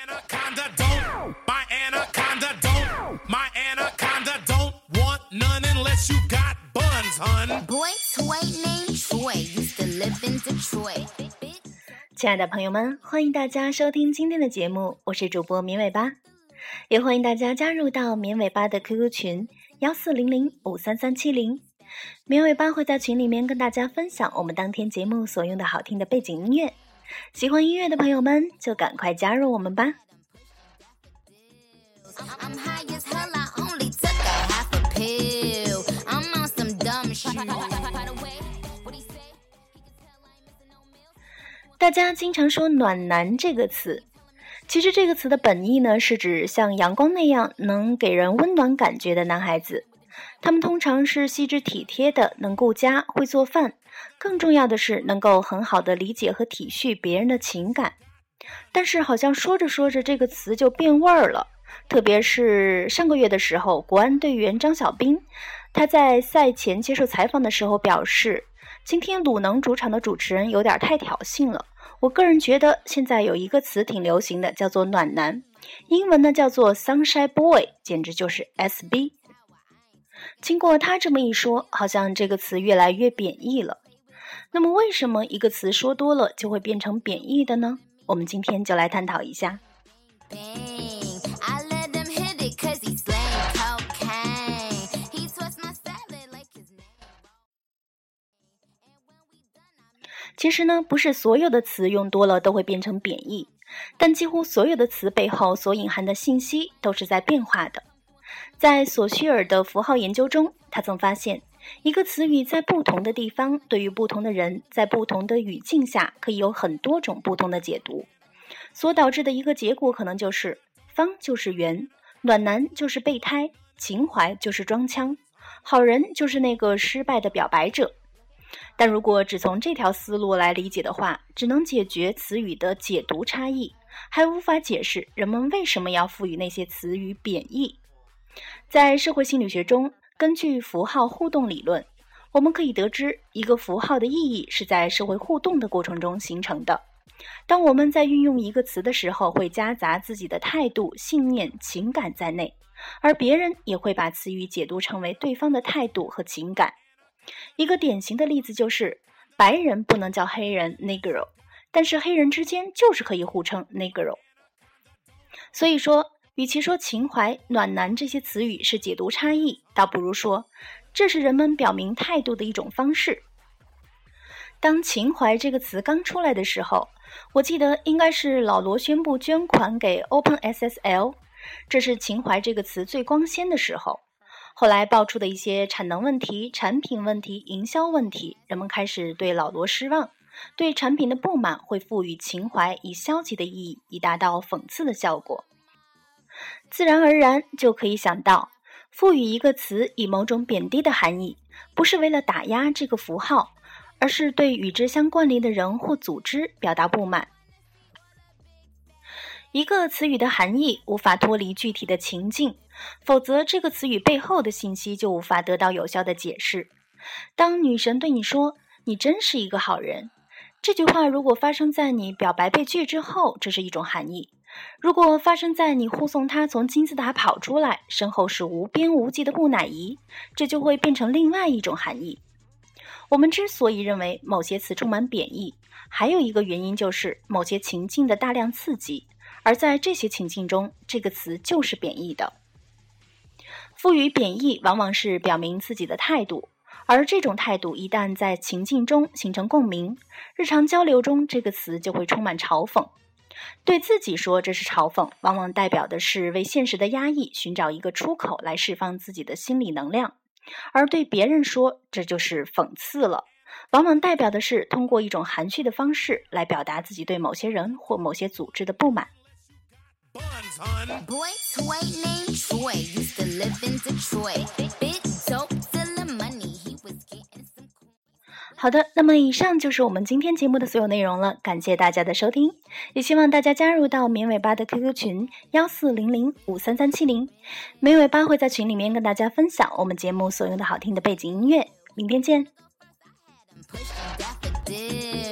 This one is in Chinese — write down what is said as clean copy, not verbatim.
亲爱的朋友们，欢迎大家收听今天的节目，我是主播绵尾巴，也欢迎大家加入到绵尾巴的 QQ 群1400533370，绵尾巴会在群里面跟大家分享我们当天节目所用的好听的背景音乐，喜欢音乐的朋友们就赶快加入我们吧。大家经常说暖男这个词，其实这个词的本意呢，是指像阳光那样能给人温暖感觉的男孩子。他们通常是细致体贴的，能顾家，会做饭，更重要的是能够很好的理解和体恤别人的情感。但是好像说着说着这个词就变味儿了，特别是上个月的时候，国安队员张小彬，他在赛前接受采访的时候表示，今天鲁能主场的主持人有点太挑衅了。我个人觉得现在有一个词挺流行的，叫做暖男，英文呢叫做 Sunshine Boy， 简直就是 SB。 经过他这么一说，好像这个词越来越贬义了。那么为什么一个词说多了就会变成贬义的呢？我们今天就来探讨一下。其实呢，不是所有的词用多了都会变成贬义，但几乎所有的词背后所隐含的信息都是在变化的。在索绪尔的符号研究中，他曾发现，一个词语在不同的地方，对于不同的人，在不同的语境下，可以有很多种不同的解读，所导致的一个结果可能就是方就是圆，暖男就是备胎，情怀就是装腔，好人就是那个失败的表白者。但如果只从这条思路来理解的话，只能解决词语的解读差异，还无法解释人们为什么要赋予那些词语贬义。在社会心理学中，根据符号互动理论，我们可以得知一个符号的意义是在社会互动的过程中形成的。当我们在运用一个词的时候，会夹杂自己的态度、信念、情感在内，而别人也会把词语解读成为对方的态度和情感。一个典型的例子就是白人不能叫黑人 Negro， 但是黑人之间就是可以互称 Negro。 所以说，与其说情怀、暖男这些词语是解读差异，倒不如说这是人们表明态度的一种方式。当情怀这个词刚出来的时候，我记得应该是老罗宣布捐款给 OpenSSL， 这是情怀这个词最光鲜的时候。后来爆出的一些产能问题、产品问题、营销问题，人们开始对老罗失望，对产品的不满会赋予情怀以消极的意义，以达到讽刺的效果。自然而然就可以想到，赋予一个词以某种贬低的含义，不是为了打压这个符号，而是对与之相关联的人或组织表达不满。一个词语的含义无法脱离具体的情境，否则这个词语背后的信息就无法得到有效的解释。当女神对你说你真是一个好人，这句话如果发生在你表白被拒之后，这是一种含义；如果发生在你护送她从金字塔跑出来，身后是无边无际的木乃伊，这就会变成另外一种含义。我们之所以认为某些词充满贬义，还有一个原因就是某些情境的大量刺激，而在这些情境中，这个词就是贬义的。赋予贬义往往是表明自己的态度，而这种态度一旦在情境中形成共鸣，日常交流中这个词就会充满嘲讽。对自己说这是嘲讽，往往代表的是为现实的压抑寻找一个出口来释放自己的心理能量，而对别人说这就是讽刺了，往往代表的是通过一种含蓄的方式来表达自己对某些人或某些组织的不满。好的，那么以上就是我们今天节目的所有内容了，感谢大家的收听，也希望大家加入到绵尾巴的 QQ 群1400533370，绵尾巴会在群里面跟大家分享我们节目所用的好听的背景音乐，明天见。